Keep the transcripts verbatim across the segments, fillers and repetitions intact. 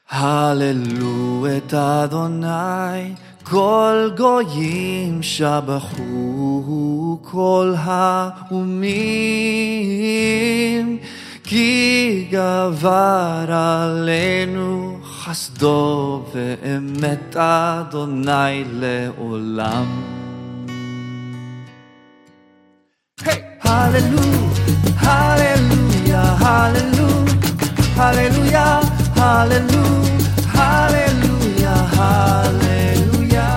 הללו את אדוני, כל גויים שבחו, כל האומים, כי גבר עלינו חסדו ואמת אדוני לעולם. הללו, הללויה, הללו, הללויה, הללו, הללויה, הללויה.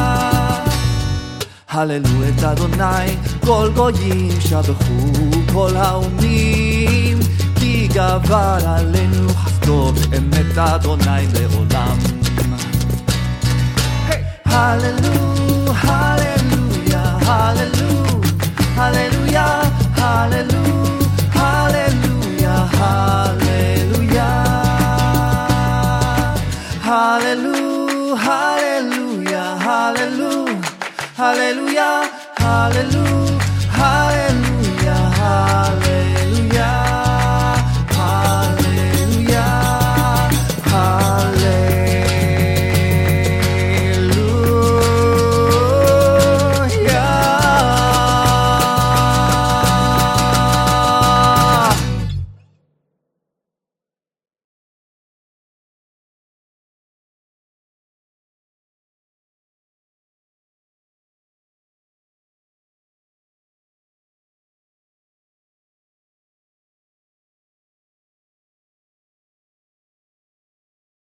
הללו את אדוני, כל גויים שבחו, כל האומים, כי גבר עלינו חסדו ואמת אדוני לעולם. הללו, הללויה, הללו, הללויה, הללו, הללויה, הללויה. Hallelujah, hallelujah, hallelujah, hallelujah.